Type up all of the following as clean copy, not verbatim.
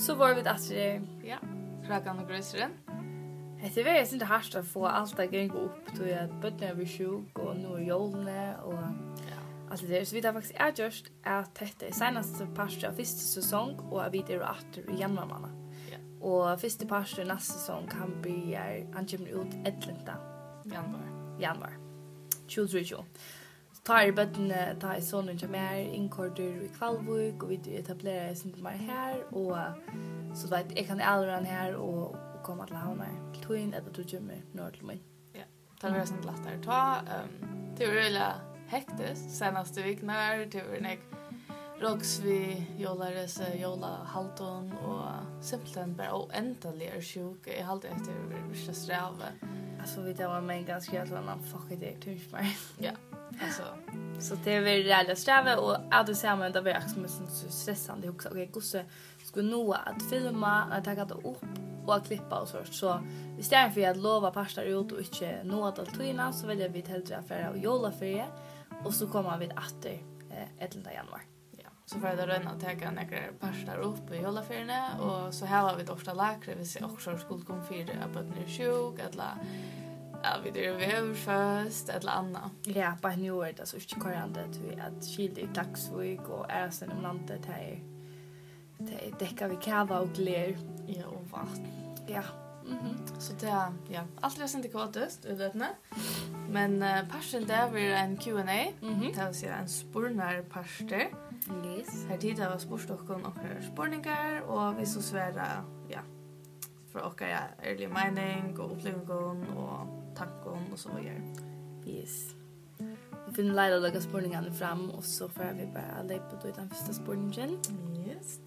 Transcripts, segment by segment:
Så var vi att Ja, Ragan och Grösren. Det är väldigt inte hardt att få allt att gå upp till att bötterna blir sjuk och nu är jolene och allt det. Så vi har faktiskt gjort att detta är senaste parten av första säsong och vi är åter i januari månad. Ja. Och första parten nästa säsong kan bli han kommer ut 11. Januari. 2023. Tar bötterna tar sonen som är inkordur i Kvalvik och vi etablerar oss inte mer här och så vet jag kan aldrig här och komma till havna till Twin eller till Jimmy norr till mig. Ja, det var sånt lättare ta. Det var really hektiskt senaste veckorna. Det var nek Roxvi, Jolares, Jola Halton och simpelthen bara oändliga sjuk. Jag hade efter vissa sträva. Alltså vi det var mig ganska sån fuck it typ mig. Ja. Alltså så det var rejält sträva och att det samma det var också så stressande också. Okej, gosse skulle nå att filma, att ta det upp och klippa och så istället för att lova pastar ut och inte nå att allt så vill vi hellre affärer och jolaferie och så kommer vi åter 11 januari. Ja, så för det rönna att ta några pastar upp i jolaferierna och så här har vi ofta läkare vi ser också skulle komma för att nu sjuk eller vi det är först eller annat. Ja, på New York så är det korrekt att skilda i Klaxvik och Ärsen om landet här. Det täcker vi kava och gler. Ja, och vatten. Ja. Så det allt är inte kvartast utlätna. Men passion där var en Q&A. Det vill säga en spurnar pastor. Yes. Här tidigare var spurstockon och spurningar och vi så svära för och ärlig mening och upplevelse och tankar och så vidare. Yes. Vi finner lära lägga spurningarna fram och så får vi bara lägga på den första spurningen. Yes.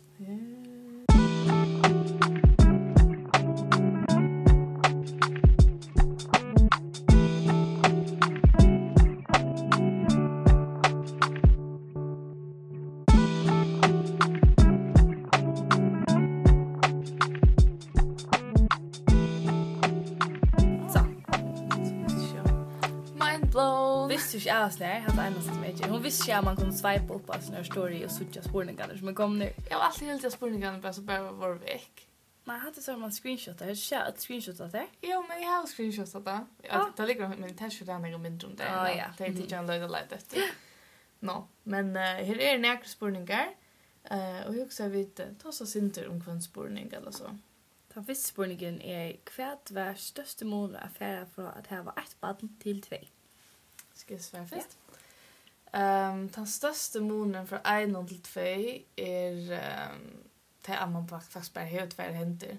Visste ikke jeg sånn her, hadde eneste som ikke. Hun visste ikke at man kunne swipe opp av sånne story og sutte spurningarna som kom nu. Jag var alltid helt spurningarna bara så bara var väck. Nej, hade så man screenshotar. Jag ser ett screenshot av det. Jo, men jag har screenshotat det. Det ligger med test där några minuter om det. Ja. Det är inte jag lägger lite. No, men här är några spurningar. Och jag också vet ta så synter om kvantspurning eller så. Den första spurningen är kvärt var största mål affär för att ha ett barn till 2. Ska jag svara först? Den största målen för 1 till 2 är det att man faktiskt bara helt tvär händer.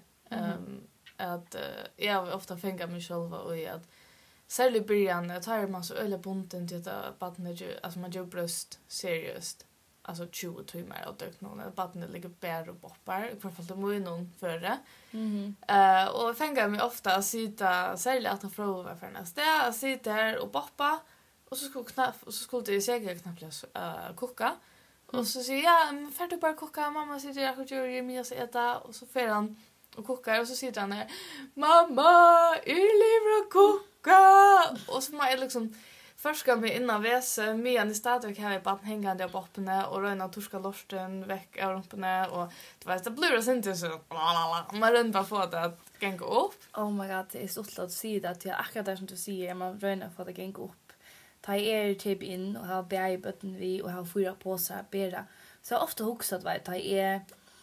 Att jag ofta fänger mig själv och i att särskilt i början jag tar man så öle bunten till att barnet alltså man gör bröst seriöst. Alltså 20 timmar och dök någon att barnet ligger bär och boppar i alla fall det må ju någon före. Och fänger mig ofta att sitta särskilt att ta fråga för nästa att sitta här och boppa och så skulle det säkert knappt koka. Och så säger jag, får du bara koka? Mamma sitter där och gör mig att äta. Och så får han och kokar. Och så sitter han där, mamma, är lever att koka? Och så man liksom förska mig innan väse. Men i stället har jag bara hängande av boppene. Och röna torska lorsten väck av rumpene. Och det blir det inte så. Man rönt bara få det att gänga upp. Oh my god, det är så lätt att säga det. Att jag akkurat där som du säger, man röna för att gänga upp. Ta typ in och ha bärbotten vi och ha 4 påsar bära. Så jag ofta huxat vad ta jag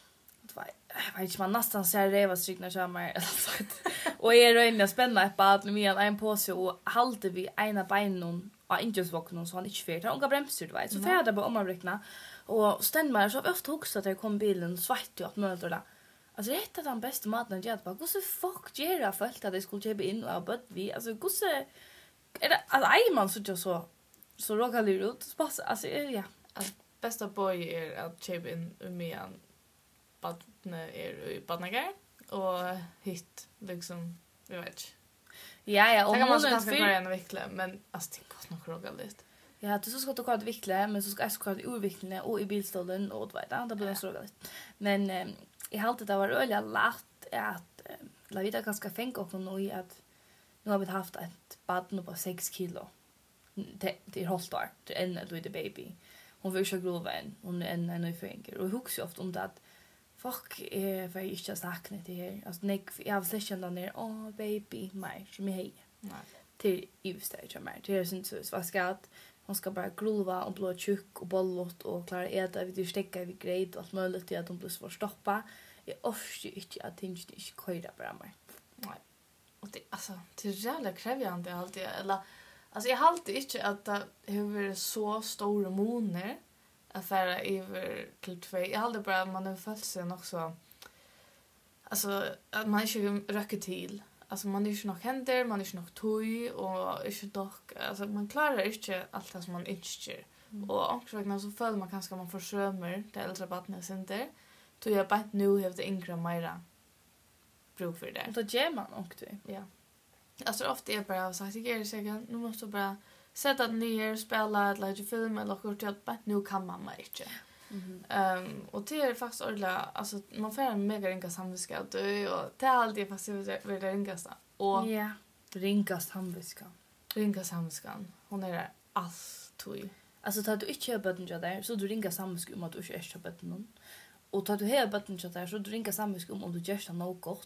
vet inte man nästan ser det var strykna chamar och är det spännande på att med en påse och håller vi ena benen och inte vakna så han inte färd. Han går bromsar du vet. Så färda på omavräkna och stämmer så ofta huxat att jag kom bilen svart och möter där. Alltså det är den bästa maten jag bara. Hur så fuck gera folk att det skulle köpa in och bött vi alltså hur så är det alltså man så råkar det ut alltså ja bästa boy är att köpa in med en badne är i badnagar och hit liksom jag vet ja och man ska börja en veckla men alltså det går nog råga lite ja du så ska du kvar veckla men så ska jag kvar urveckla och i bilstolen och vet det blir så råga lite men i haltet det var öliga lätt att la vida ganska fänka och nu att nu har vi haft ett barn på 6 kilo. Det är hållt år. Det är en liten baby. Hon vill så grova en. Hon är en ny förenkare. Och huxar ofta om det att folk är för inte sakna det här. Alltså jag har sett den där baby mig som är hej. Nej. Till ivstage mer. Det är syns så vad ska att hon ska bara grova och blå tjock och bollot och klara äta vid stecka vid grejt och allt möjligt till att de blir så stoppa. Jag orkar inte att tänka inte köra bara mer. Nej. Och det alltså det är jävla krävande alltid eller alltså jag har alltid inte att det har så stora moner affärer över till 2. Jag hade bara man har fått sig också alltså att man inte räcker till. Alltså man är inte nog händer, man är inte nog tøy och inte dock alltså man klarar inte allt det som man önskar. Och också så följer man kanske man försömer det äldre barnet center. Då jag bara nu har det yngre mera bruk för det. Och då ger man också. Ja. Alltså ofta är bara så att jag är säker nu måste bara sätta ner spela ett litet film eller något till att bara nu kan mamma inte. Och det är faktiskt ordentligt alltså man får en mega ringa samviska och det är alltid faktiskt väldigt ringast. Och ja, ringa samviska. Ringa samviskan. Hon är allt tøy. Alltså tar du inte köpa den där så du ringa samviska om att du inte är köpa den. Och tar du hela botten där så du ringa samviska om du gör det något gott.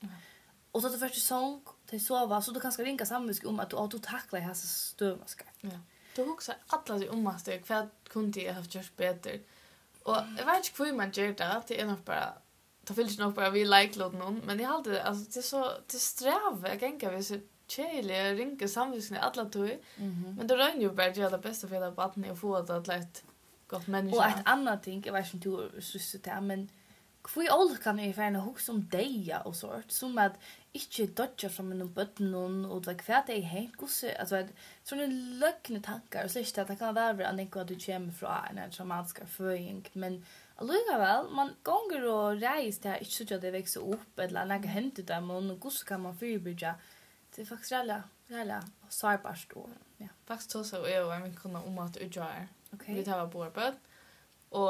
Och så att du först sång till sova så du kanske ringa samviska om att du tacklar här så stövmaska. Ja. Du också alla de ommaste kvar kunde jag ha gjort bättre. Och jag vet inte hur man gör det. Det är nog bara det finns nog bara vi like någon men jag hade alltså det är så det sträva jag tänker vi så chile ringa samviska alla tøy. Men det rör ju bara det det bästa för det barnet och få det att lätt gott människa. Och ett annat ting, jag vet inte hur syster det men hur all kan jag förna hus om deja och sånt som att inte dodja från en botten och det kvar det helt gosse alltså såna lökna tankar och släkt att det kan vara att det du kommer från en traumatisk föring men allugavel man gånger och reis där inte så att det växer upp eller några hänt där men gosse kan man förebygga det är faktiskt rella sårbart då ja faktiskt så är jag men kunna om att utgöra. Okej. Vi tar på bort och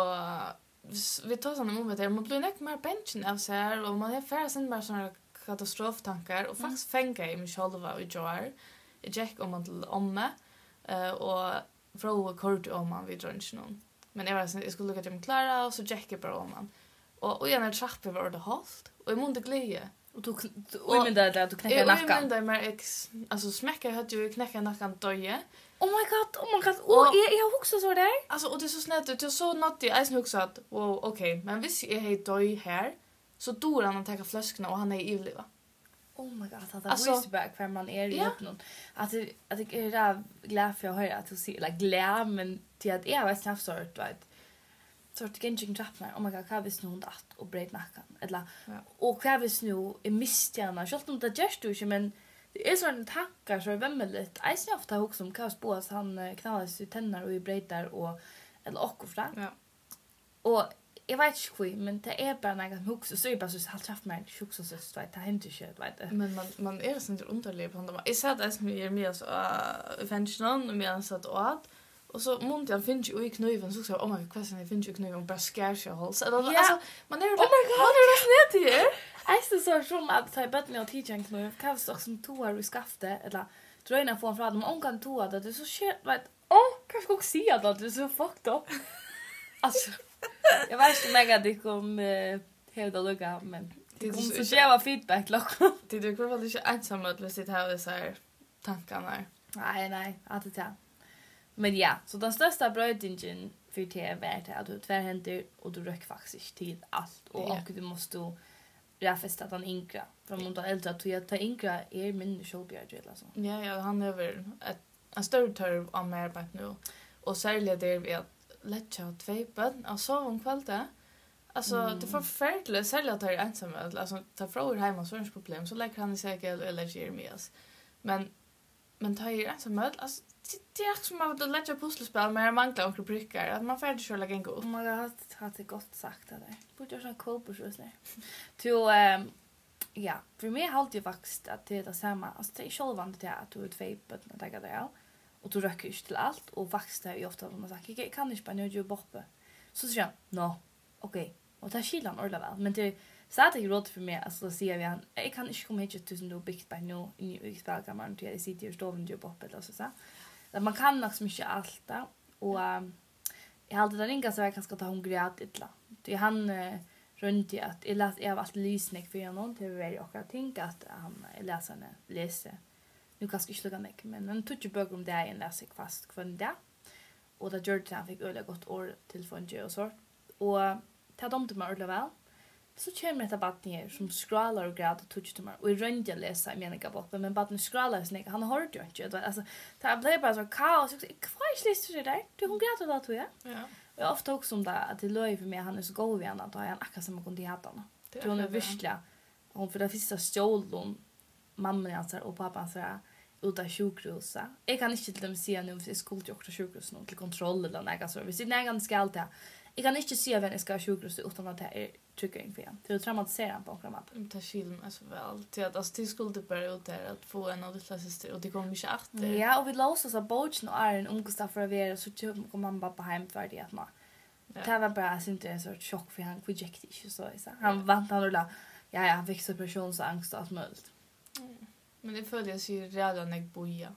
vi tar såna moment där man blir näck mer pension av sig och man har färre sen bara såna katastroftankar och faktiskt fänga i mig själva och joy. Jag gick om att omme och fråga kort om man vid lunchen. Men jag skulle lucka till Klara och så gick jag bara om man. Och jag när trappor var det halt och jag måste glädje. Och du men där du knäcker nacken. Jag men där alltså smäcka hade ju knäcka nacken doje. Oh my god. Och jag också så där. Alltså och det är så snällt det är så något jag sen också att wow okej, men visst är hej doj här så då han tar flaskorna och han är i livet. Oh my god, det är back för man är i öppnen. Att det är glad för att höra att du ser eller glad men till att jag vet knappt sort vet. Sort genging trappar. Oh my god, vad visst nu att och bred nacken. Eller och vad visst nu är mistjärna. Jag tror inte det just du men det är såna tankar så vämmeligt. Jag ser ofta också om kaos på att han knallar sig tänder och i breddar och eller också. Ja. Och jag vet inte hur, men det är bara något hux och så är det bara så halvt haft mig hux och så vet det händer inte vet du. Men man är så inte underlig på honom. Jag sa det som är mer så offension och mer så att och så måste jag finna ju i kniven så oh my god, vad jag finner ju kniven bara skär sig hålls. Alltså man är oh my god, man är snett här. Jag så som att ta bort och teaching kniv. Kan så som toar i skaftet eller dröna från dem om kan toa det är så shit vet. Kanske också se att det är så fucked up. Alltså jag vet inte mega det kom hela lugga men det kom så jävla feedback lock. Det du går väl inte ensam att vi sitter här och så här tankarna. Nej, att det. Men ja, så den största brödingen för det är att du tvärhänder och du röker faktiskt till allt och du måste räfesta den inkra från mot äldre att ta inkra är min showbjörd eller så. Ja, han är väl en större törv av mer på nu. Och särskilt det vi att lägga 2 barn och sova om kvällen. Alltså det får förfärligt särskilt att det är ensam alltså ta frågor hemma så är det problem så lägger han i säkert eller Jeremias. Men ta är ensam alltså det är som att lägga pusselspel med manglar och prickar att man färdigt kör lägga gå. Man har det gott sagt det där. Borde jag sån kopa så där. Ja, för mig har det faktiskt att det är samma. Alltså det är självande det att du är 2 barn och det där. Och du röker inte till allt och växter ju ofta som man säger jag kan inte bara nu jobba uppe. Så säger jag, okej. Och det skiljer han ordentligt väl. Men det så att det råd för mig alltså säger vi han jag kan inte komma hit till du byggt på nu i spelkammaren till jag sitter och står och jobbar uppe eller så. Att man kan nog så mycket allt där och jag hade den inga så jag kanske ta hon grät illa. Det han runt i att jag har alltid lysning för någon till varje och jag tänker att han läsarna läser. Nu kanske inte lugna mig, men han tog ju böcker om det en läser fast kvann det. Och det gjorde han fick öliga gott år till för en och så. Och ta dem till mig ordentligt väl. Så kommer det ett ner som scrollar och grad och touch till mig. Och i rönt jag läser i meningen boppen, men barnen scrollar snäck. Han har hört ju inte. Alltså, det blev bara så kaos. Jag kvar läste det där. Du hon grad då tror jag. Ja. Jag ofta också om det att det löj för mig han är så god vid att han akkurat som man kunde hata honom. Det hon är virkelig. Hon för det första stjålon mamman hans och pappan så ut av sjukhuset. Jag kan inte till dem säga nu hvis jag skulle till också sjukhus någon till kontroll eller något så. Hvis det är en skall ta. Jag kan inte säga vem jag ska sjukhus utan att det är tryckning för igen. Det är traumatiserande på något sätt. Det skiljer mig så väl. Till att alltså till skulle bara ut där att få en audition syster och det kommer mycket efter. Ja, och vi låtsas att bochen och är en omgåsta för att vara så typ kommer man bara hem för det att man. Det var bara inte en sorts chock för han reject inte så. Han vant han då ja, fick separationsangst och allt möjligt. Men det följer sig redan jag boja.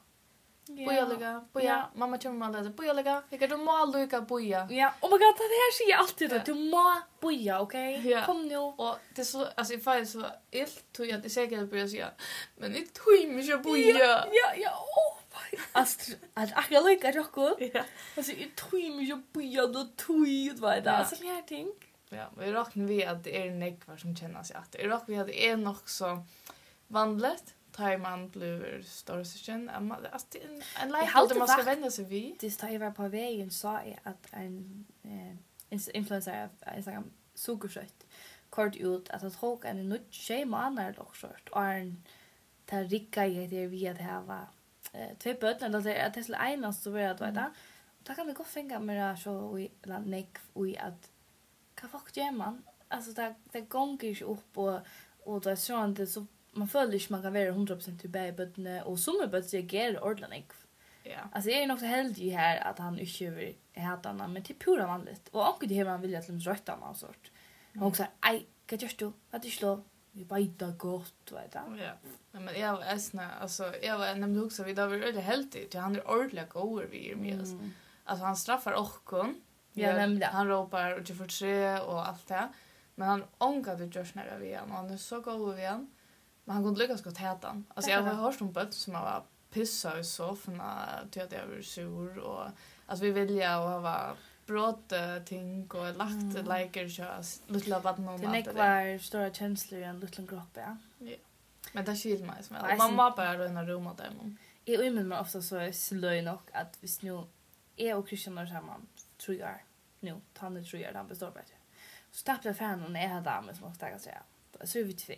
Boja. Mamma kommer med det. Boja. Jag kan må lycka boja. Ja, oh my god, det här säger jag alltid att du må boja, okej? Ja. Kom nu. Och det är så alltså i fall så ilt tog jag det säkert börja säga. Men det tog mig så boja. Ja. Astrid, att jag lycka Jocko. Ja. Alltså, jag tog mig så boja då tog vad det. Alltså, här ting. Ja, vi räknar vi att det är nekvar som känner sig att det räknar vi att det är nog så vanligt. Tar man blir storsyskon. Alltså, det är en lejt där man ska vända sig vid. Det tar jag på vägen sa jag att en influencer av Instagram sugersött kort ut att tråka en nytt schema annars också. Och en tar ricka i det vi att ha två bötter eller det är det ena så vill jag veta. Då kan vi gå fänga med så i neck och att vad fuck gör man? Alltså det gånger ju upp och det är så man följer inte man kan vara 100% till bäbben och som bötter reagerar ordentligt. Ja. Alltså jag är nog så heldig här att han inte vill hata honom, men det är pura vanligt. Och också det här man vill att de rötta honom och sort. Och också aj, vad gör du? Vad du slår? Vi bajtar gott, vet du. Ja. Men jag var alltså jag var nämligen också vi då var väldigt heldigt. Han är ordentligt god vi med oss. Alltså han straffar okkon. Ja, nämligen. Han ropar och för tre och allt det. Men han ångade just när vi igen och han är så god vi igen. Men han kunde lyckas gott heta han. Alltså jag har hört om bött som var pissa i soffan till att jag var sur och alltså vi vilja och ha brått ting och lagt liker körs lilla vatten och allt det. Det var stora känslor i en liten kropp, ja. Men det skiljer mig som väl. Mamma bara i en rum åt dem. Jag ummer mig ofta så slöj nog att hvis nu är och Christian är samman tror jag nu tanne tror jag han består bättre. Så tappade fan och är damen som måste jag säga. Så är vi två.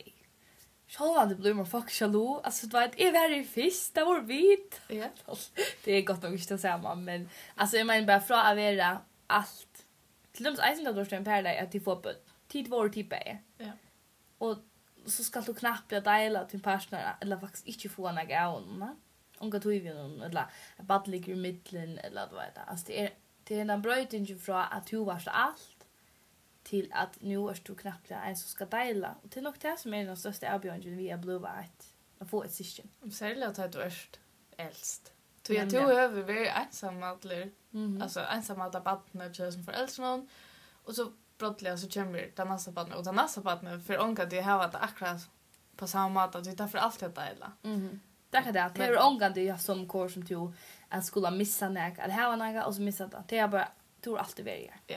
Så det blir man fuck jalo. Alltså det var ett very fisk det var vit. Ja. Det är gott nog inte att säga men alltså jag menar bara från att vara allt. Till dem så inte då en per dag att de får på tid var typ är. Ja. Och så ska du knappt dela till partner eller faktiskt inte få en gång. Om du vill någon eller bara ligger i mitten eller vad det är. Alltså det är en brötning från att du var så allt till att nu är du knappt en som ska dela. Och till nog det som är den största avbjörningen vi har blivit att få ett syskon. Särskilt att du är äldst. Så jag tror att vi är ensamma alltså ensamma alla barnen som föräldrar och så brottliga så kommer den nästa barnen och den nästa barnen för onka det har varit akkurat på samma sätt att vi tar för allt att dela. Det kan det att det är onka det jag som kor som till att skulle missa näg att ha några och så missa det. Det är bara tror alltid välja. Ja.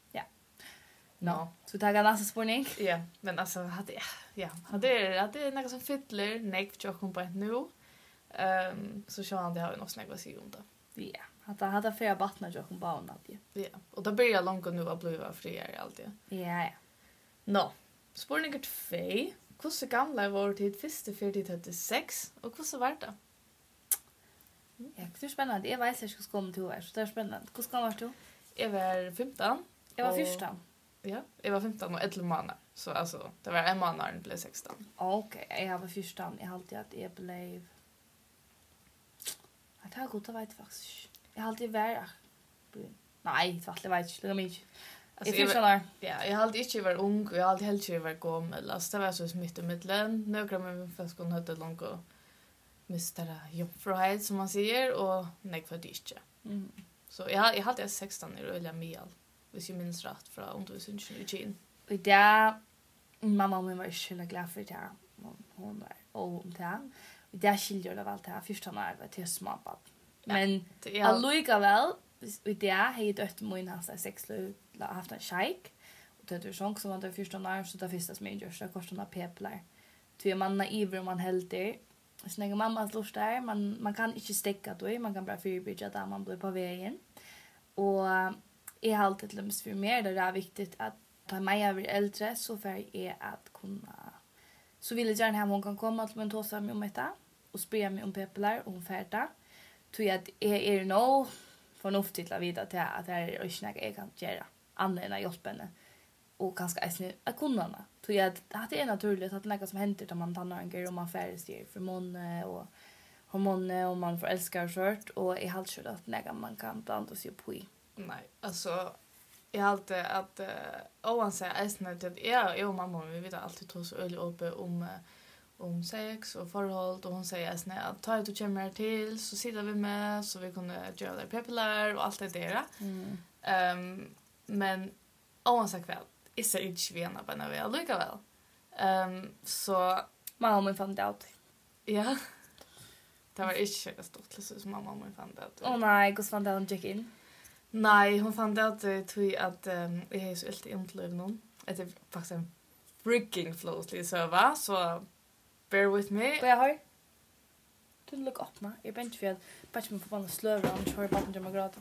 No. Så taga nästa spårning. Ja, men alltså hade det något som fyller neck för jag på ett nu. Så så han det har vi nog snägga sig om det. Ja, hade fler vattna jag kom barn alltid. Ja, och då börjar långt nu att bli friare alltid. Ja. No. Spårning 2. Hur så gamla var det till första 4036 och hur så var det? Ja, det är spännande. Jag vet inte hur jag ska komma till här, så det är spännande. Hur ska var du? Jag var 15. Jag var 14. Ja, jag var 15 och 11 månader. Så alltså, det var en månad när det blev 16. Okej, jag var 14. Jag har alltid att jag blev... Det har gått, jag vet faktiskt. Jag har alltid varit... Nej, jag vet inte. Det är mycket. Jag är 14 år. Ja, jag har alltid inte varit ung och jag har alltid helt inte varit gammal. Alltså, det var så mitt i mittlen. Några med min fäskon hade långt och mistade jobbfrihet som man säger. Och nej, för det inte. Så jag har alltid 16 år och jag är med. Hvis jag minns rätt från undervisningen i Kina. Och där mamma och min var så glad för det. Hon var om det. Och där skiljer det väl till 14 år var till småbarn. Men allikevel, och det hade dött min hans 6 haft en shake. Och det var sånt som var det 14 år så det första som jag gjorde så kostade peplar. Två man naiv om man helt det. Så när mammas lust där, man kan inte stäcka då, man kan bara förebygga där man blir på vägen. Och jag har alltid lämst för mer det är viktigt att ta mig över äldre så för är att kunna så vill jag gärna ha hon kan komma till en tåsa med om detta och spela mig om peplar och färda. Tror jag att är nog förnuftigt att veta till att det är inte något jag kan göra annat än att hjälpa henne och kanske att kunna. Tror jag att det är naturligt att det är något som händer när man tannar en grej och man färdigstyr för måne och hormoner och man får älskar kört och är halt så att något man kan blanda sig på i. Nej, alltså jag har alltid att oavsett att jag och mamma vi vet alltid tog så öl uppe om sex och förhåll och hon säger att ta ut och kommer till så sitter vi med så vi kunde göra det peplar och allt det där. Men oavsett kväll är så inte vena på när vi är likaväl. Så mamma fann det ut. Ja. Det var inte så stort som mamma fann det ut. Åh nej, hur fann det hon gick in? Nej, hon fann det tror att jag är så helt intlöv någon. Det är faktiskt en freaking flowsly server så bear with me. Vad jag har? Du look upp nu. Jag bänch för att bara man får bara slöra om kör bara med gråta.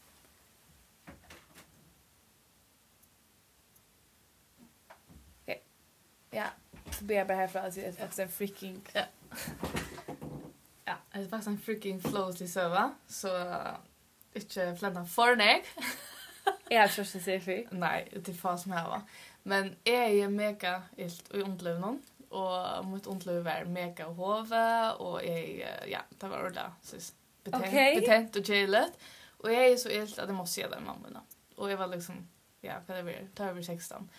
Okej. Ja, så ber jag bara härifrån att det är faktiskt en freaking ja, det är faktiskt en freaking flowsly server så inte flända för nek. Jag har först att säga för. Nej, det är fast som här va. Men jag är mega ilt och ontlöv någon. Och mot ontlöv är mega hove och ja, det var ordla så betent och chillet. Och jag är så ilt att jag måste se den mamma. Och jag var liksom ja, vad det tar över 16.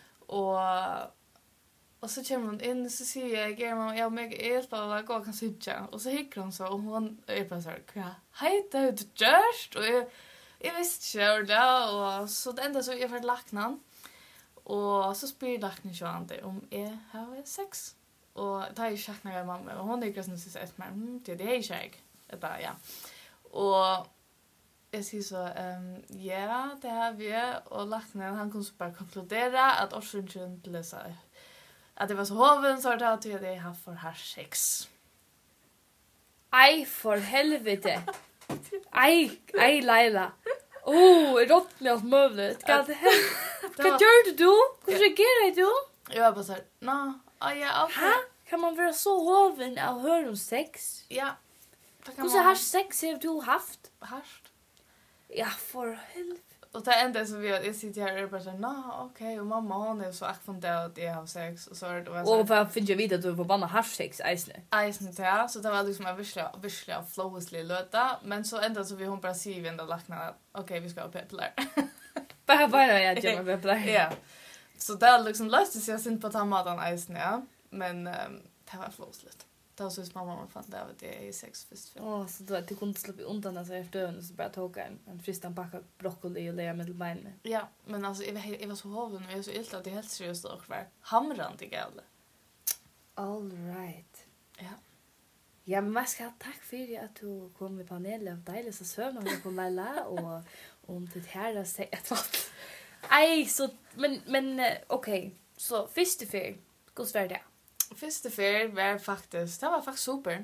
Och så kommer hon in så säger jag German jag mega ilt på att gå kan sitta och så hickar hon så och hon är bara så här hej det just och jag visste inte ordla och så det enda så jag var laknan. Och så spyr laknen så inte om jag har sex. Och det är ju tjackna av mamma. Och hon är just nu så säger att det är tjäg. Det ja. Och jag säger så, ja, det har vi. Och laknen, han kunde så bara konkludera att orsaken till det att det var så hoven så att jag har för här sex. Aj, för helvete. Aj, Laila. Rottne allt möjligt. Vad gör du? Hur reagerar du? Jag var bara så här, ja, okej. Kan man vara så hoven av hör om sex? Ja. Hur har sex har du haft? Haft. Ja, för helvete. Och det enda så jag sitter här och bara så här, okej, och mamma hon är så akfunderad att jag har sex och så är det var så. Och vad finns jag vidare du får bara ha sex isne. Ja, så det var liksom en virkelig flowsly löta, men så ända så vi hon bara säger vi ändå lakna okej, vi ska ha peplar. Bara jag gör med peplar. Ja. Så det liksom löste sig sin på tamaten isne, ja, men det var flowsligt. Då så mamma fann det att det är sex först. Så då att du kunde släppa undan alltså efter ön så bara tog en fristan packa broccoli och lägga med beinen. Ja, men alltså jag var så hoven och jag är så ilt att det helt seriöst och var hamrande gale. All right. Ja. Ja, men man ska tack för att du kom med panelen av dejliga sövn och på Laila och om det här att säga att aj så men okej. Så första för hur var det? Första fer var faktiskt super.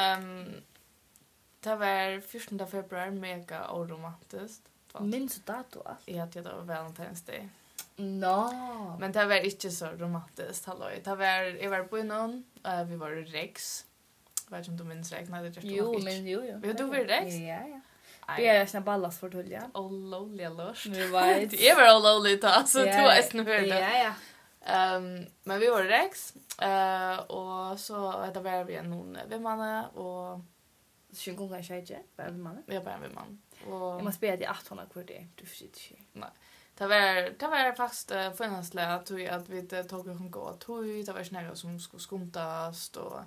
Det var 14 februari mega oromantiskt. Minns du dato? Ja, det var Valentine's Day. No. Men det var inte så romantiskt, halloj. Jag var på någon, vi var i Rex. Jag vet inte om du minns Rex, nej det just Jo. Vi du var i Rex? Ja. Det är såna ballas för tull, ja. Oh lowly lust. Vi var det är väl lowly ta så du är snö hörde. Ja. Men vi var i Rex och så det var vi någon vemmanne och så jag går kanske bara vemmanne. Vi bara vemmanne. Och jag måste be dig 800 kvar det. Du förstår inte. Nej. Det var faktiskt förnästliga att vi tog en gå tog det var snäga som skulle skumtas och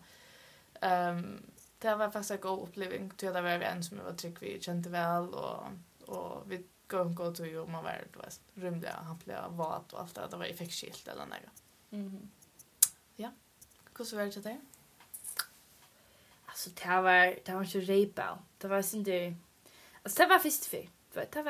det var faktiskt en god upplevelse. Det var vi en som var trygg vi kände väl och vi gå till och man var det var rymliga han blev vat och allt det var effektskilt eller något. Mhm. Ja. Hur så var det där? Alltså det var så repa. Det var inte alltså det var först för. Det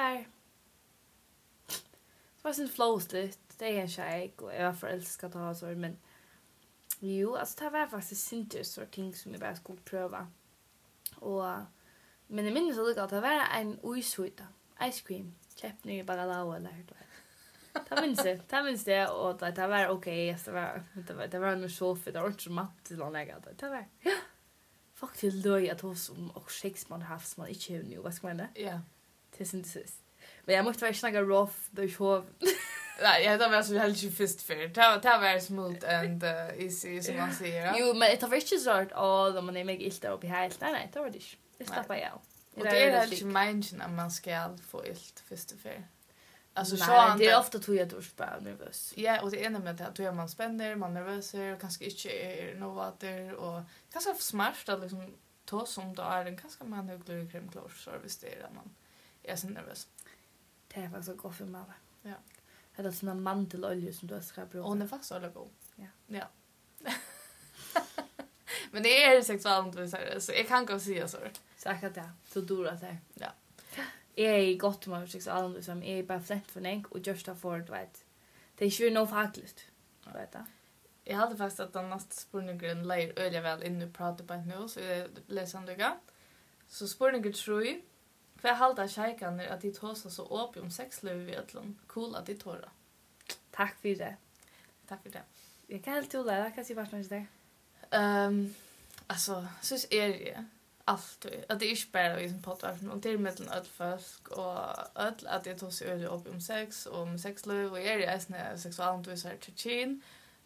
var sin flowsligt. Det är en tjej och jag var förälskad att ha så men jo, alltså det var faktiskt inte så ting som jag bara skulle pröva. Och men jag minns att det var en uishuita. Ice cream. Köpte ni bara lau eller hur det minns det och det var okej. Det var nog så för det var inte så matt till någon lägga. Det var ja. Faktiskt då jag tog som och Shakespeare havs man inte nu vad ska man det? Ja. Det är inte så. Men jag måste vara snacka rough då så. Nej, jag tar väl så helt ju först för. Det var smooth and easy som man säger. Jo, men det var inte så att då man är mig ilta upp i helt. Nej, det var det inte. Det slappar jag. Och det är helt meningen att man ska få ilt först för. Alltså så det är ofta tror jag då bara nervös. Ja, och det är nämligen att då man spänner, man nervös och kanske inte är något där och kanske smart att liksom ta som då är den kanske man högre kremklor service där man är så nervös. Det är faktiskt gott för mig. Ja. Det är såna mantelolja som du ska bruka. Och den är faktiskt så god. Ja. Ja. Men det är sexualundervisare så jag kan gå och säga så. Säkert det. Så dåra det. Ja. Jag är gott med sexualundervisare som är bara flätt för en och just för du vet. Det är ju nog faktiskt. Vet du? Jag hade faktiskt att den nästa spurningen lägger öliga väl in och prata på nu så jag läser det. Så spurningen tror jag för halda tjejkan att de tåsar så åp om sexliv i Ötland. Cool att de tåra. Tack för det. Tack för det. Jag kan helt lära kan se vart man är. Alltså, så är det alltid. Att det är inte bara i sin podcast, och det är mellan öll folk och öll att det tar sig öl upp om sex och om sexliv och är det sexualundervisare till Chin.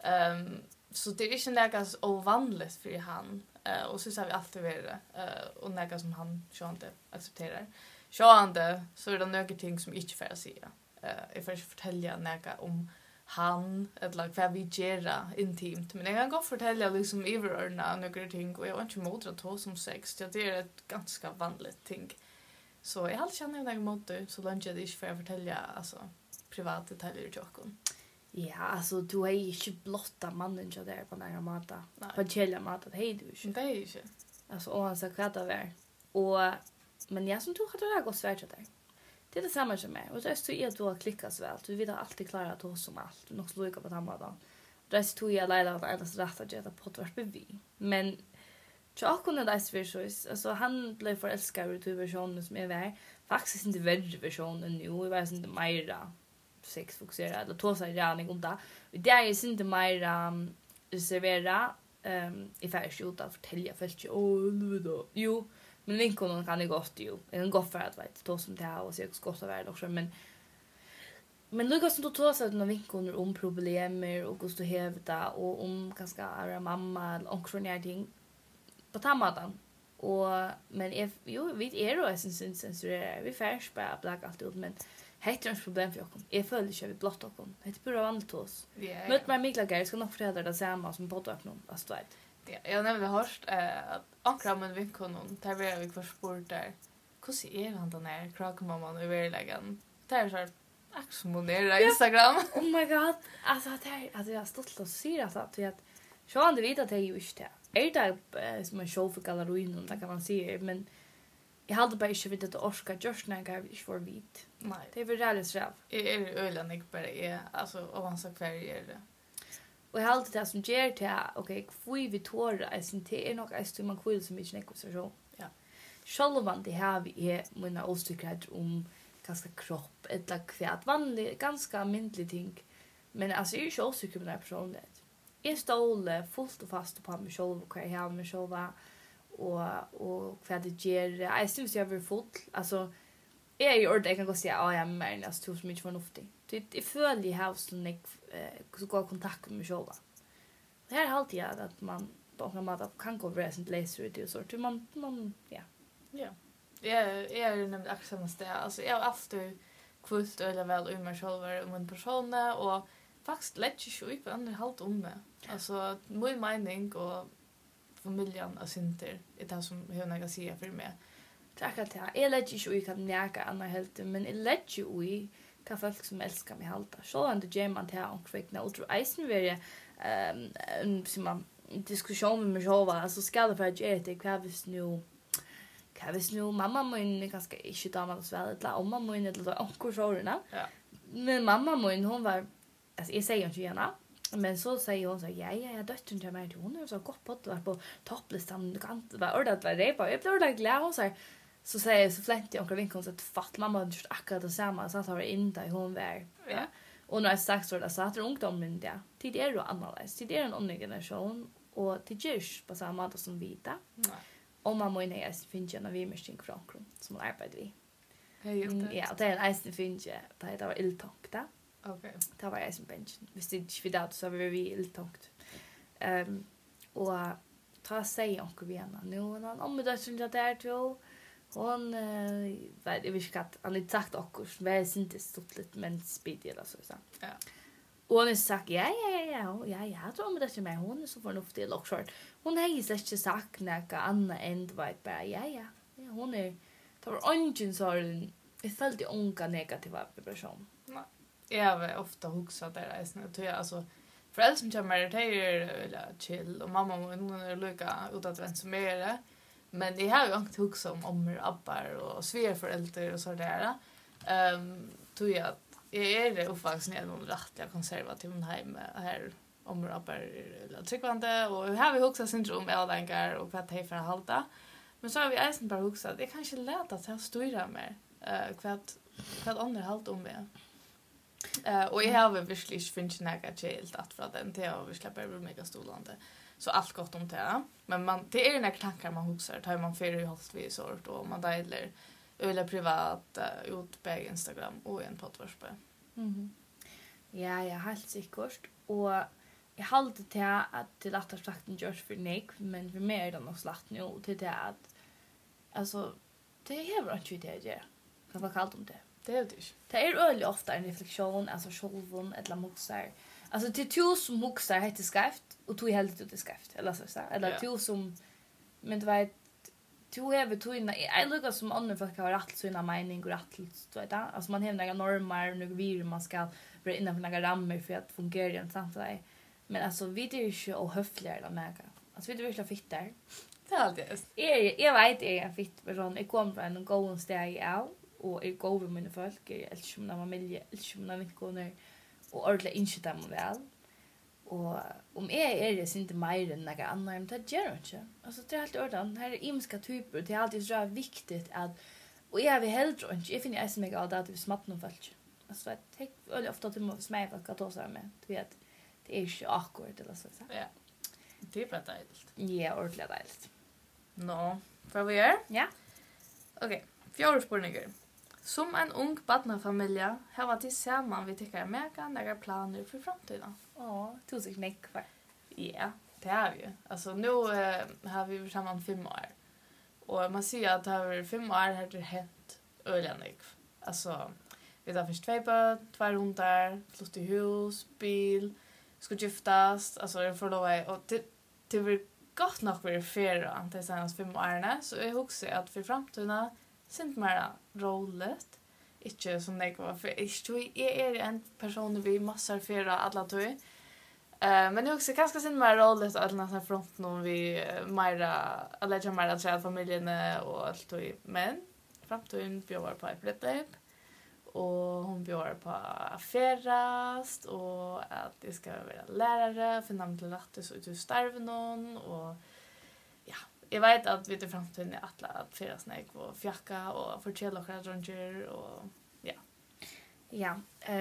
Så det är inte något ovanligt för han. Och så har vi alltid varit och något som han inte accepterar. Så är det några ting som inte får säga. Jag får inte fortälja något om han eller vad vi gör intimt. Men jag kan godt fortälja liksom överordna några ting och jag har inte emot att ta som sex. Det är ett ganska vanligt ting. Så jag har alltid känner jag emot det så länge jag inte får fortälja alltså, privata detaljer till åkken. Ja, alltså du har ju inte blotta mannen så där på några mata. På kälja mata, det är du inte. Det är inte. Alltså och han sa kvart av är. Och men jag som tror att det är gott svärt där. Det är det samma som mig. Och det är så att du har klickat väl. Du vet alltid klara att ta som allt. Du måste lika på samma dag. Det är så jag lärde att alls rätt att göra på vart vi. Men jag kunde det för så alltså han blev förälskad i versionen som är vär. Faktiskt inte värre versionen nu. Jag vet inte mer sex fokuserad eller ta sig räning om det. Det är inte mer servera i färdigt att fortälja fältet. Jo. Men vinkonen kan det gott ju. Det kan gå för att vet då som det här och så gott av värld också men Lucas som då tar sig några vinkoner om problem och hur du hävda och om kanske är mamma eller också när ting på tammadan och men vi är då sen censurerar vi färs bara black allt ut men heter ett problem för oss. Jag följer inte vi blott oss. Det är bara vanligt oss. Möt mig Mikla Gary ska nog fortälla det samma som på att någon alltså vet. Ja, jag har nämligen hört att ankra med vinkonen där vi kvar sport där. Hur är han den här krakmamman i verkligen? Det är så här axmonera Instagram. Oh my god. Alltså att jag har stått och syrat att så han det vet att det är ju inte. Är det som en show för gallerin och där kan man se men jag hade bara inte vet att orska just när jag inte får vit. Nej. Det är väl rätt så. Är ölen inte bara är alltså avancerat färger det. Och jag har alltid det som ger till okej, kvui vi tåra är sin te nog är man kvill som inte nekvar så. Ja. Självan det har vi är mina ostyckad om ganska kropp eller kvärt vanligt ganska myndligt ting. Men alltså är ju så ostyckad på den här personen. Jag står fullt och fast på mig själv och jag har mig själv och vad det ger. Jag syns jag vill fullt alltså är ju ordet jag kan gå säga ja men alltså tror så mycket förnuftigt. Det följer i huset så går kontakt med mig själv. Det här är alltid att man på något sätt kan gå över sin läser ut och så till man ja. Ja. Jag är nämligen axelns det. Alltså jag har alltid kvult eller väl i mig själv om en person och faktiskt lätt ju upp andra halt om det. Alltså min mening och familjen är synter. Det är det som jag näga säga för mig. Tack att jag lägger ju i kan näka andra helt men jag lägger ju i kan folk som älskar mig halta. Så ändå ger man till och kvickna och tror isen vill som man diskussion med mig själv alltså ska det för att göra det krävs nu mamma min ganska inte damer så väl eller mamma min eller onkel såna. Ja. Men mamma min hon var alltså jag säger inte gärna men så säger hon så ja dottern till mig hon är så gott på det på topplistan kan vara ordat var det på jag blir ordat glad hon säger så säger jag så flänt jag onkel vinkon så att fatt mamma hade gjort akkurat det samma så att hon var inte hon var Ja. och när jag sagt så där så att ungdomen där tid är ju annorlunda tid är en annan generation och till just på samma sätt som vita Nej. och mamma och jag finns ju när vi måste tänka från som arbetar vi. Ja, det är en finns det var illtångt där. Okej. Det var jag som bench. Visst det inte vidare så var vi illtångt. Och ta sig onkel vi henne nu och om det syns att det är då hon vet jag vet att han inte sagt också väl inte stort lite men speed eller så så. Ja. Och hon har sagt ja jag tror om det är med hon är så förnuftig och short. Hon har ju inte sagt något annat än vet bara ja hon är det var ingen sån jag följde unga negativa vibration. Jag har ofta huxat där är alltså föräldrar som kommer till eller chill och mamma hon är lika utåtvänd som är men det har ju inte huxat om ommor, abbar och svärföräldrar och så där. Tror jag att jag är uppvuxen i någon rättliga konservativ hem här ommor, abbar eller tryckvande och här har vi huxat syndrom avdankar och vad det för att halta. Men så har vi även bara huxat det kanske lätt att jag styra mer vad andra halt om det. Och jag har väl verkligen finns något helt att för den till och vi släpper väl mega stolande. Så allt gott om det. Men man det är när tankar man huxar tar man för i halt vi sort och man delar eller privat ut på Instagram och en poddvarspe. Ja, jag helt säkert och jag håller till att till att sagt en George för Nick men för mer än något slatt nu till det att alltså det är väl inte det jag kan vara kallt om det. Det är det inte. Det är öliga ofta en reflektion alltså självon eller moxar. Alltså till två som moxar heter skaft och två helt ut det skaft eller så eller två som men det var två över två innan jag lukar som andra folk har rätt så innan mening och rätt så där. Alltså man har några normer och några vir man ska vara innanför några ramar för att fungera i en samtal. Men alltså vi är ju inte ohöfliga eller något. Alltså vi är verkligen fitt där. Det är alltid. Jag vet jag är fitt person. Jag kommer från en god steg av och jag går med mina folk. Jag älskar mina familj, älskar mina vänner och ordentligt inte dem väl. Och om jag är det inte mer än några andra, men det gör jag inte. Alltså det är helt ordentligt. Här är imska typer. Det är alltid så viktigt att och jag vill hellre inte. Jag finner jag mig av det att vi smatt någon folk. Alltså det är ofta att du måste smä folk att ta sig med. Du vet, det är inte awkward eller så. Ja. Det är bara dejligt. Ja, ordentligt dejligt. Nå, får vi göra? Ja. Okej, fjärde spurningar. Som en ung barnfamilj har varit tillsammans vi tycker mega några planer för framtiden. Ja, tusen knäck kvar. Ja, det har vi ju. Alltså nu har vi varit samman 5 år. Och man ser att det har varit 5 år har det hänt öliganik. Alltså, vi har först 2 barn, 2 hundar, flytt i hus, bil, ska giftas, alltså det får lov och det blir gott nog för färra de senaste 5 åren. Så jag hoppas att för framtiden syns mer roligt. Inte som det var för jag är en person vi massor färra alla två. Men jag också kanske syns mer roligt att nästan front någon vi mera alla mera att familjen och allt och men framtiden bjöd på ett bröllop. Och hon bjöd på affärast och att det ska vara lärare för namn till rätt så ut starv någon och ja, jag vet att vi till framtiden är att färasnäck och fjacka och fortsätta och ranger och ja. Ja,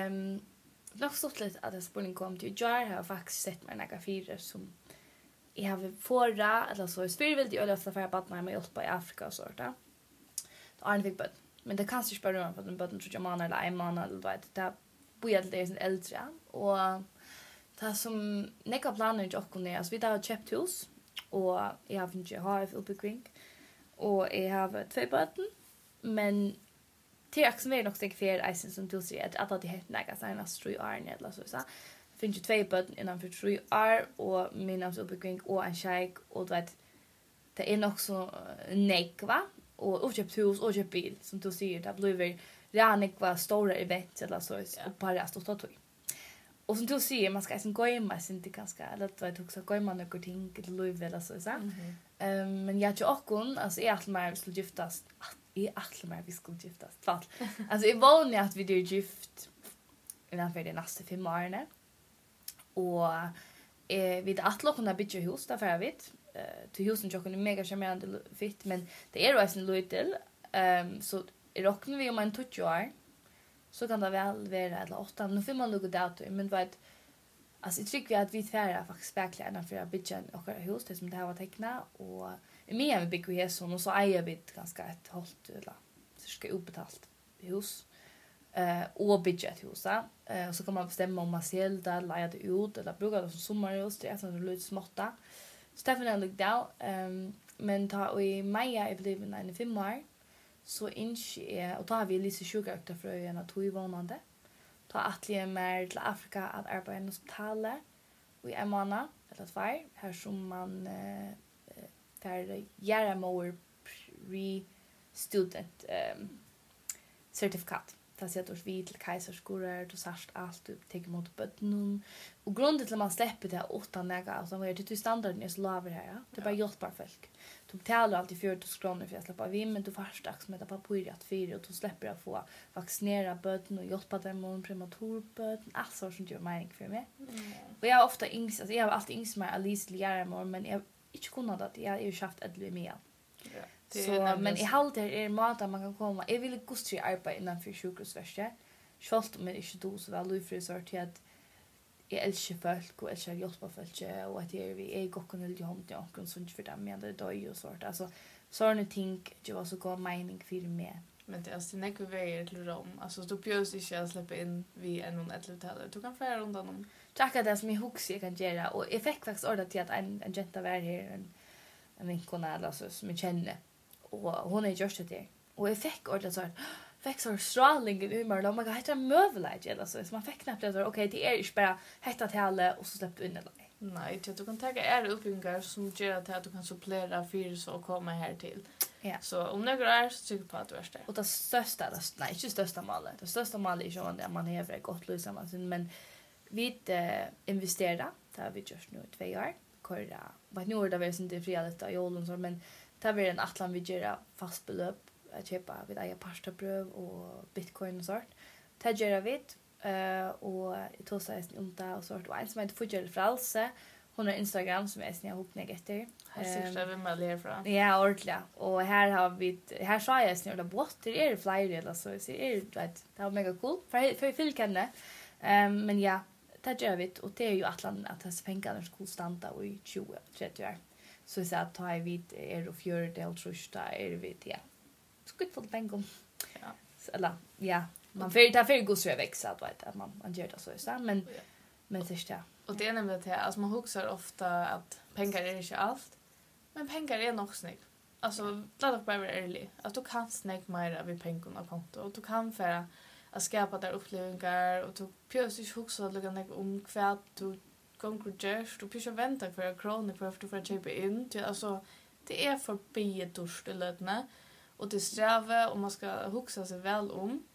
nog stort lite att det spurning kom till jag har faktiskt sett mig några fyra som jag har förra eller så spirituellt eller så för att med hjälpa i Afrika och sådär. Då är det fick men det kanske inte bara för att den börjar tror jag man eller en man eller vad det börjar det är en äldre och det som neka planer jag kunde alltså vi har köpt hus och jag har inte HF uppe kring och jag har 2 barn men till att som är nog steg för isen som du säger att det heter några såna 3 år eller så finns ju 2 barn innan för 3 år och mina uppe kring och en shake och vet det är nog så nekva och köpt hus och köpt bil som du säger det blir redan var stora event eller så och bara stort att och som du säger man ska sen gå in med sin det ganska eller att också gå in med några ting eller löv eller så men jag tror också alltså är att man skulle giftas vi skulle giftas fall alltså är vanligt att vi blir gift innan för det nästa 5 åren och vid att locka bygga hus där för vet till husen jag kunde mega charmerande fint men det är ju en lite så räknar vi om en 20 år så kan det väl vara eller 8 nu får man lugga datum men vad alltså jag tycker att vi färra faktiskt verkligen för att bygga och hus det som det här var teckna och med vi bygger hus och så äger vi ganska ett hållt eller så ska uppbetalt hus och bygga ett hus och så kan man bestämma om man säljer det leja det ut eller bruka det som sommarhus det är sån lite småtta Stefan är lugg där men ta i maj är blivit en 5 år så inte och tar vi lite sjukhus för en att två vånande ta atlige mer till Afrika att arbeta i hospitalet och i en månad eller 2 här som man där göra more pre-student certifikat. Det sätter oss vid till kejsarskolor och särskilt allt upp till mot bötten. Och grunden till att man släpper det utan näga alltså vad är det till standarden är så laver här. Det är bara hjälpar folk. Du betalar alltid 40 kronor för att släppa vim men du först dags med på att fyra och du släpper att få vaccinera bötten och hjälpa dem mot prematurbötten. Alltså sånt gör mening för mig. Och jag har ofta yngst alltså jag har alltid yngst mig Alice Lärmor men jag inte kunnat att jag är ju haft ett med. Så men i halt är mat att man kan komma. Jag vill gustri arbeta innan för sjukhusvärste. Schalt men inte då så väl lufrisor till att jag älskar folk och älskar hjälpa folk och att vi är gocken eller hand till onkeln som för dem men det är ju sort. Alltså såna ting det var så god mening för mig. Men det är alltså näck väger till Rom. Alltså du bjöds inte att släppa in vi en någon ett hotel. Du kan fara runt om. Tacka det som jag huxar kan göra och jag fick faktiskt ordet till att en jenta var här en vinkona eller så som jag känner och hon är just det och jag fick ordet så här fick så stråling i humor och man kan hitta möbler eller så man fick knappt det okej det är inte bara hitta till alla och så släppa in det. Nej, du kan ta är uppbyggar som gör att du kan supplera för så komma här till. Ja. Så om några är så tycker på att du är det. Och det största målet. Det största målet är ju att man har ett gott liv samman men vi investera där vi just nu 2 år. Köra. Vad nu är det väl inte frihet i åldern så men det blir en atlan vi gör fast belopp att köpa vid eget pastabröd och bitcoin och sånt. Det gör vi och i torsdags inte och sånt och en som heter Fudgel Fralse hon har Instagram som är snäll ihop negativ. Här vi med ler från. Ja, ordentligt. Och här har vi här sa jag snäll där bort det är flyger eller så är det var mega cool för fylkande. Men ja, det gör vi och det är ju atlan att det pengarna skulle stanna i 20-30 år. Så så att ta vid är och fjör del trusta är vi ja. Skut för pengar. Ja. Eller ja, man för god så växa att man gör det så men så ja. Och det är nämligen det alltså man huxar ofta att pengar är inte allt. Men pengar är nog snygg. Alltså låt oss bara vara ärlig. Att du kan snägga mer av pengarna på konto och du kan för att skapa där upplevelser och du plötsligt huxar att lägga om kvärt du konkurrens du pyssar vänta för en krona för att du får köpa in till alltså det är förbi durstelötna och det sträva och man ska huxa sig väl om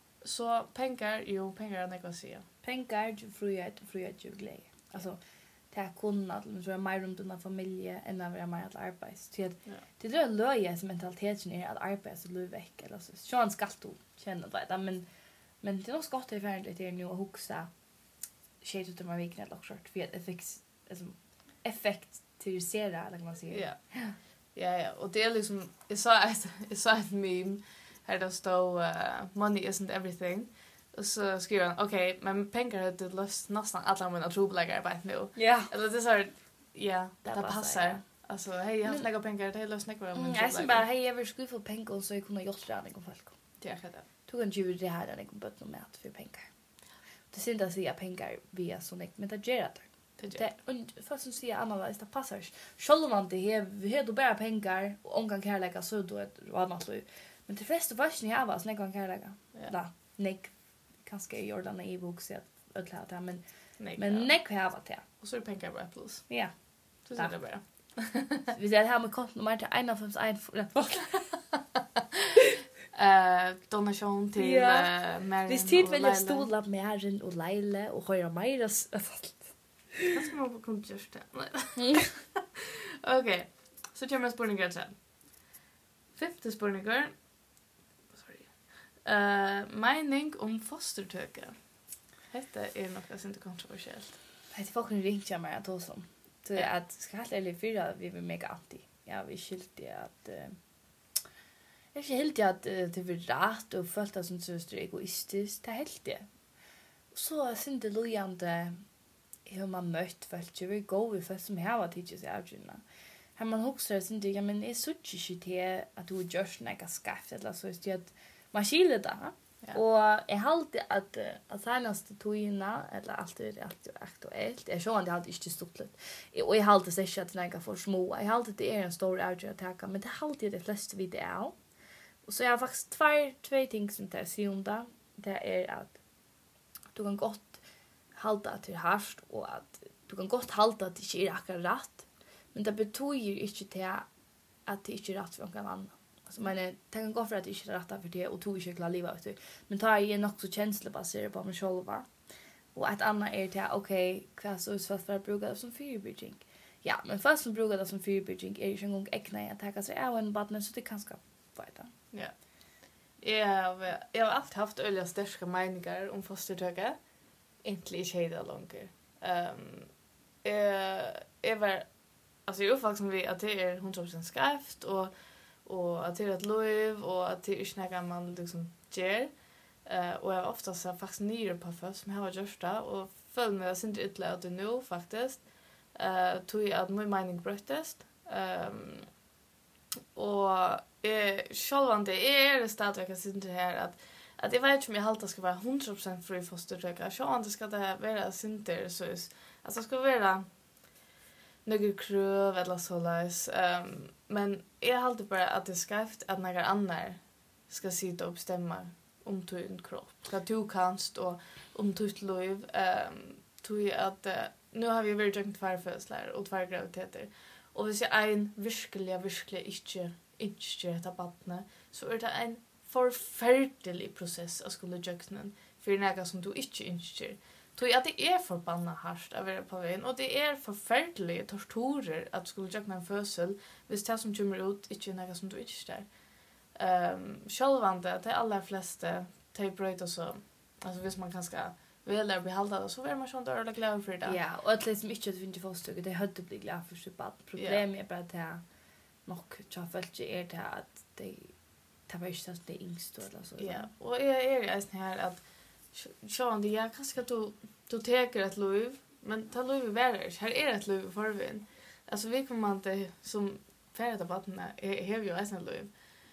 så pengar är något att säga. Pengar frihet ju glädje. Alltså det är kunnat så är mer runt den familjen än att vara mer att arbeta. Det är löjes mentaliteten är att arbeta så löv veck eller så. Så ska du känna det men det är nog gott det är lite nu att huxa shit ut med veckan eller så för att effektivisera eller kan man säga. Ja, och det är liksom jag sa ett meme här det står money isn't everything. Och så skriver han, okej, men pengar har det löst nästan alla mina trobläggare bara nu. Ja. Eller det är så här, ja, det passar. Ja. Alltså, hej, jag har lägga pengar, det är löst näkvar av mina trobläggare. Jag bara, hej, jag vill skulle få pengar så jag kunde gjort det här med folk. Det är det. Du kan ju det här när jag bött något mat för pengar. Det syns att säga pengar via sån men det gör det. Och fast som säger Anna det passar. Själv man det här du bara pengar och omgång kärleka så då ett annat liv. Men det flesta varsin jag var sån gång kärleka. Ja, nick kanske i Jordan i boxet ödla det men nick har varit det. Och så är det pengar bara plus. Ja. Så ser det bara. Vi ser här med kort nummer till 151. Donation till Ja. Maren. Hvis tid vilja stola Maren og Leila og høyra meira Vad ska man på kontoret det? Okej. Så kommer spurningar sen. Femte spurningar. Sorry. Mening om fostertöke. Detta är något inte kontroversiellt. Det folk kan ringa mig att oss om. Så att ska helt ärligt fyra vi vill mega anti. Ja, vi skilte att jag är helt att det vill rätt och följt att som så egoistiskt. Det är helt det. Så synd det lojande hur man mött fast ju gå vi fast som här var teachers outgina. Har man också synd ja men är så inte att du just några skaft eller så är det man skiljer det. Ja. Og jeg halte at senaste togina, eller alt er aktuelt, jeg sjående jeg halte ikke stått og jeg halte ikke at det er for små, jeg halte det er en stor avgjør å taka, men det halte de fleste vid det av. Og så jeg har faktisk två ting som jeg sier om det, det er at du kan godt halte at det er hardt, og at du kan godt halte at det ikke er akkurat rett, men det betyr ikke til at det ikke er rett for noen annen. Men det kan gå för att det inte är rätt för det och tog inte klara livet ut. Men tar jag nog så känslobaserat på mig själv. Och ett annat är det okej, vad så är för att bruka det som förebygging. Ja, men först som brukar det som förebygging är ju en gång äckna att ta sig av en barn så det kan ska vara. Ja. Jag har alltid haft öliga starka meningar om fostertöke. Inte i skeda långt. Jag var alltså jag faktiskt vi att det är 100% skarpt och att det är ett lov och att det är inte något man liksom gör. Och jag har ofta så faktiskt nere på för som jag har gjort det och följ mig att inte ytterligare det nu faktiskt. Tog jag att min mening bröttest. Och självande är det stadigt att sitta här att jag vet inte om jag alltid ska vara 100% fri fostertöka. Självande ska det vara sinter så alltså det ska vara några kröv eller så läs. Men jag har alltid bara att det är skarpt att några andra ska sitta och bestämma om din kropp. Vad du kanst och om ditt liv. Tog att nu har vi varit jakt för födslar och 2 graviditeter. Och hvis jag en virkelig inte detta barnet så är det en förfärlig process att skulle jakta för något som du inte tror att det är förbannat hårt att vara på vägen och det är förfärliga torturer att skulle jakta en födsel hvis det som kommer ut inte är något som du inte självande de allra flesta typer så alltså hvis man kanske väl där behalda det så är man sånt där glad för det. Ja, och att liksom inte att vi inte får stöd det hade bli glad för sitt barn. Problemet är bara det nog jag fällt är det att det var inte så det yngst eller så. Ja, och jag är ju här att Sean, det är kanske att du tar ett lov, men ta lov i världen. Här är ett lov för vin. Alltså vi kommer inte som färdiga vattna har ju ett lov.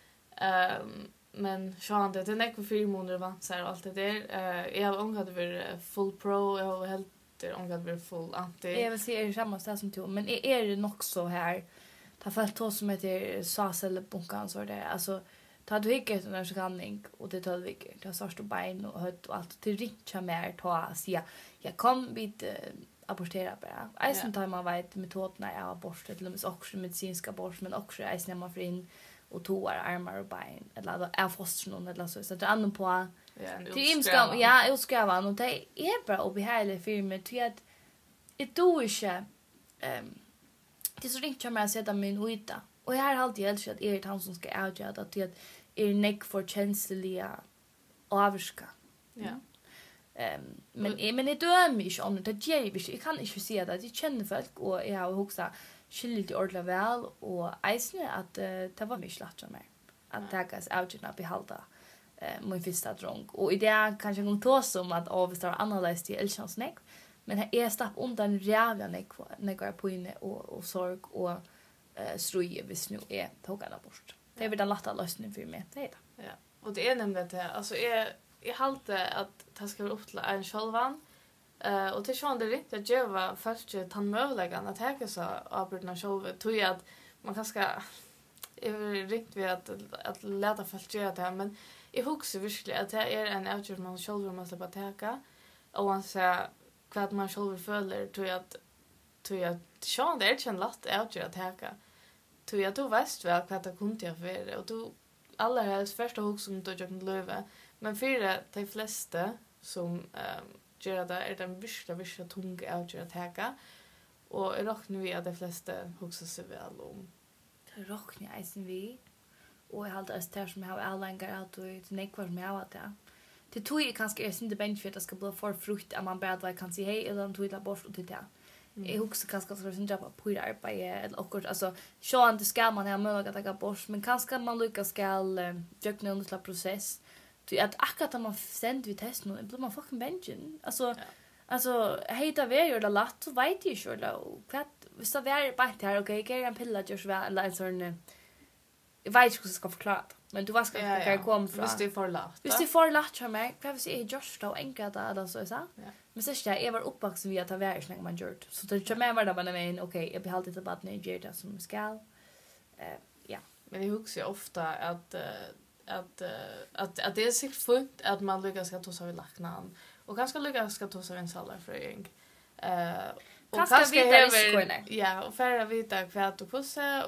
Men Sean, det är nästan 4 månader vansar och allt det där. Jag har ångat över full pro, jag har helt ångat över full anti. Jag vill säga det samma ställe som du, men är det nog så här ta fällt två som heter SAS eller bunkan så där. Alltså ta du gick ut när skanning och det 12 veckor. Det har du bein och hött och allt till richa mer ta säga jag kom vid abortera bara. Eisen tar man vet metoderna är abort till och med också medicinska abort men också eisen man för in och toar armar och bein eller är fostern eller så det andra på till imskam ja utskrivan och det är bara och behärligt för mig till att det då inte det är så richa mer att sätta min uta. Och jag har alltid älskat att är han som ska avgöra att det är neck för känsliga avska. Ja. Men det dör mig om det ger ju jag kan inte säga det jag känner folk och jag har också skillt ordla väl och äsne att det var mig slatt som mig att tagas avgöra behalda min första drunk och det kanske någon tås som att avstar analys till elchans neck men här är stapp undan rävla neck på inne och sorg och struje hvis nu är tågarna bort. Det är väl den lätta lösningen för mig. Det är det. Ja. Och det är nämligen det. Alltså jag halte att det ska vara upp till en självan. Och till sån det riktigt att jag var först tandmövläggan att häka så avbrytna själv. Tror jag att man kanske är riktigt vid att läta först göra det här. Men jag huxar verkligen att det är en avgjord man själv måste bara täcka. Och man säger vad man själv följer tror jag att Sean det är inte en lätt avgjord att täcka. Du vet väl vad det kunde jag för och du alla helst första hugg som då jag löve. Men för de flesta som gör det är den värsta tunga att göra täcka. Och jag räknar vi att de flesta huxar sig väl om. Det räknar jag sen vi. Och jag hade det som jag har alla att det nekvar som jag har det. Det tror jag kanske är inte bench för att det ska bli för frukt att man bara kan säga hej eller tog det bort och till det. Jag huxar kanske att det är inte på det arbete eller också alltså så att det ska man ha möjlighet att ta bort men kanske man lyckas ska göra en slags process. Det att akkurat när man sänder vi test nu blir man fucking benchen. Alltså heter vi gör det lätt så vet jag ju då. Hvis det är bara här okej, kan en pilla just väl eller en sån jag vet inte hur jag ska förklara det. Men du var ska jag komma från. Visst det är för lätt. Visst det är för lätt för mig. Kan vi se just då enkelt där så så. Men så jag var uppvuxen via att vara när man gjort. Så det kommer vara bara men okej, jag blir alltid till att nej det som ska. Ja. Men jag huxar ofta att det är så fint att man lyckas ska ta sig vid lacknan och kanske lyckas ska ta sig en salafröing. Och kanske vita och färra vita kvart och pussa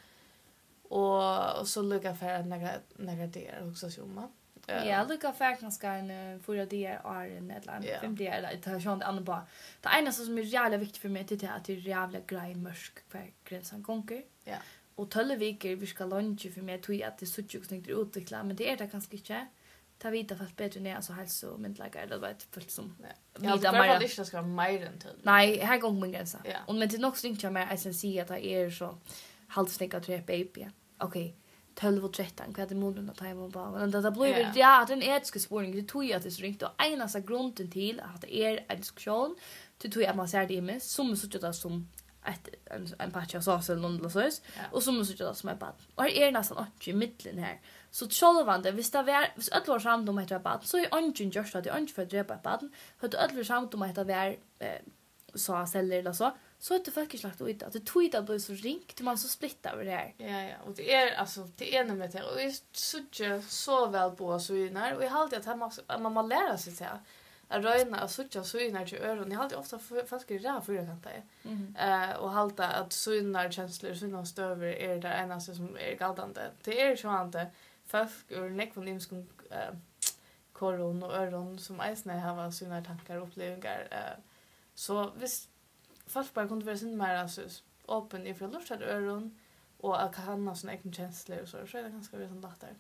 och så lyckas färra några det också sjumma. Ja, lyckas färra kanske en 4 dagar eller 5 dagar eller det har sånt annat bara. Det enda som är jävla viktigt för mig det är att det är jävla grej mörk för gränsen konkur. Ja. Och 12 veckor vi ska lunch för mig tror jag att det så tjockt snyggt utveckla men det är det kanske inte. Ta vita fast bättre ner så hälso mentliga eller vad det fullt som. Ja, det var det inte ska vara mer än till. Nej, här går min gränsa. Ja. Och men det är nog snyggt jag mer att se att det är så halvsnäcka tre baby. Okej. 12 och 13 vad det moden att ta bara. Men det blir ja, den etiska spåringen det tror jag att det är så ringt och ena så grunden till att det är en diskussion. Det tror jag att man ser det med som så det som en patch av sås eller något sås och så måste jag som är bad. Och är nästan inte i mitten här. Så självande visst det var visst att var samt om heter bad. Så är ungen just att det inte för drepa bad. För att var samt om heter var sås eller så. Så att det faktiskt lagt ut att det tog det blir så ringt man så splitta över det här. Ja och det är alltså det är med det och är så väl på så när och jag har alltid att man lära sig så här. Jag röjna och sucha synar till öron. Jag har alltid ofta fast rädd för det kan ta. Och halta att synar känslor synar stöver är det enda som är galdande. Det är så inte folk ur nekvon som koron och öron som äsna har synar tankar och upplevelser. Så visst folk bara kunde vara sin mer alltså öppen ifrån lustade öron och att kan ha såna egna känslor och så är det ganska väl sån lättare.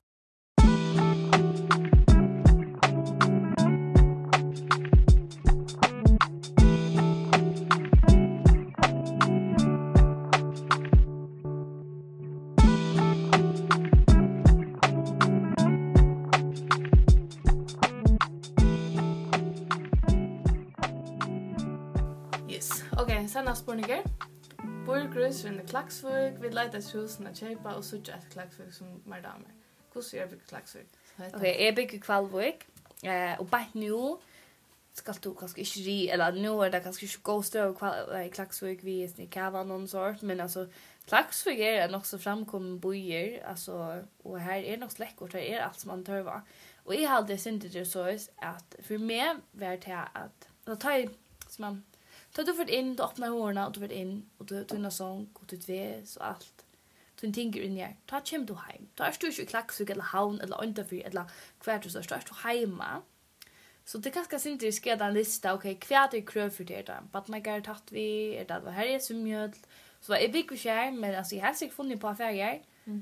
Sanna spurningar. Burgrus i Klaksvik, vi letar husen att köpa och så ett Klaksvik som mer damer. Hur ser jag bygga Klaksvik? Okej, jag bygger Kvalvik. Och bara nu ska du kanske inte ri, eller nu är det kanske inte ghost i Klaksvik vi är i Kavan någon sort, men alltså Klaksvik är nog så framkommen bojer, alltså och här är nog läckert, här är allt som man törva. Och jag hade synte det så att för mig var det att då tar jag som man så du får in, du öppnar hörna och du får in och du tar en sång och du vet och allt. Du tänker in här. Ta hem du hem. Ta är du i Klaksvik eller havn eller utanför eller kvart du så står du hemma. Så det kanske syns det ska den lista okej kvart är kröv för det där. Badmagar tatt vi är det här är som mjöl. Så är big och skär men alltså jag har sig funnit på affärer.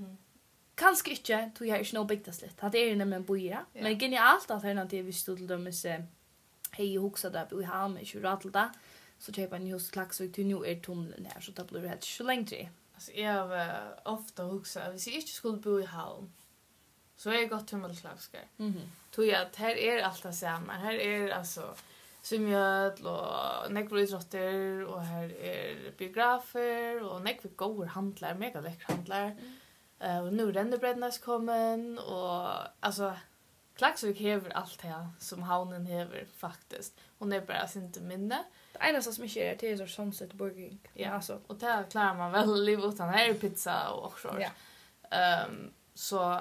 Kanske inte tog jag inte nog byggt slit. Det är nämligen boira. Men genialt alternativ vi stod till dem hej huxa där vi har med Kuratlda. Så köper en hus Klaksvik till nu är tunneln här så det blir helt så länge. Alltså jag har ofta huxat hvis jag inte skulle bo i Havn så är jag gått till Klaksvik. Tror jag att här är allt det samma. Här är alltså symjöl och nekroidrotter och här är biografer och nekvigor handlar, mega läckra handlar. Och nu Rennebrednas kommen och alltså Klaksvik hever allt det som Havnen hever faktiskt. Hon är bara inte minne. Det enda som inte är det är så Sunset Burger. Ja, alltså. Och där klarar man väl liv utan här är pizza och så. Ja. Så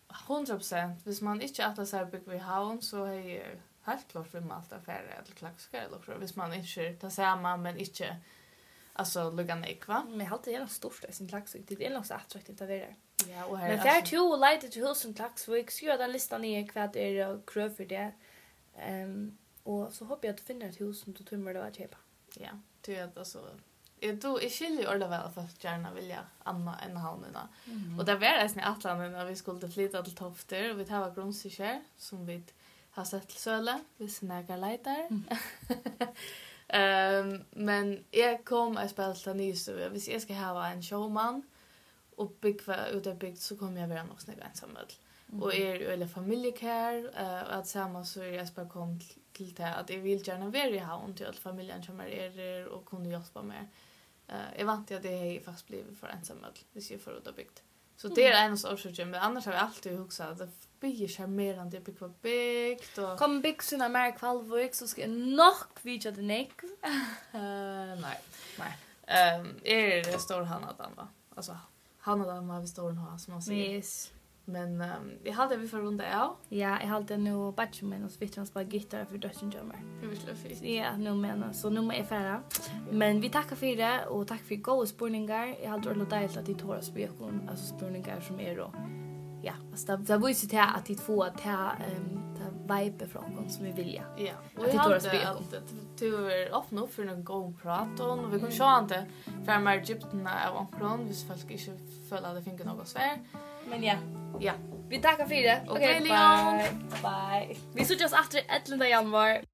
100%, hvis man inte äter så här bygg vid Havn så är det helt klart för man alltid affärer eller Klaksvik eller så. Hvis man inte tar samma men inte alltså lugga nek, va? Men jag har alltid gärna stort i sin klaxvik. Det är nog så attraktivt att vara. Ja, och här Men fär to och lite till husen klaxvik. Skriva den listan ner vad det är och kröv för det. Och så hoppas jag att du finner ett hus som du tror det var att köpa. Ja, det är alltså jag skiljer ordet väl för att gärna vilja Anna än Halmina. Och det var nästan Atlanten när vi skulle flytta till Tofter och vi tar grundsikker som vi har sett till Söle, vi snägar lighter. Men jag kom att spela till Nystuve. Hvis jag ska ha en showman och bygga utbyggt så kommer jag vara nog snägga ensamma. Och eller familjekär och att samma så är jag bara kom till det att jag vill gärna vara i havn till att familjen kommer er och kunde hjälpa med. Jag vant att det är fast blivit för ensamma hvis jag får utbyggt. Så det är en av orsakerna, men annars har jag alltid huxat att det blir charmerande att bygga byggt. Och... Kom bygg såna mer kvalvik så ska jag nog vidja det nek. Nej. Är det stor Hannadan, va? Alltså, Hannadan var vi stor ha som man säger. Yes. Men jag hade vi för runda av. Ja, jag hade nu batchman och så vitt han spela gitarr för döden jammer. Det vill jag fint. Ja, nu menar så nu är jag färdig. Men vi tackar för det och tack för goda spurningar. Jag hade ordentligt dejligt att det tar oss spekon, alltså spurningar som är då. Ja, alltså det visar till att det får ta vibe från oss som vi vill. Ja, och jag hade att du är öppna upp för en god prat och vi kan se inte för mer Egypterna av omkron, hvis folk inte följer att det finns något svär. Men ja. Ja. Vi tackar för det. Okej, bye. Bye. Vi ses efter 11 januari.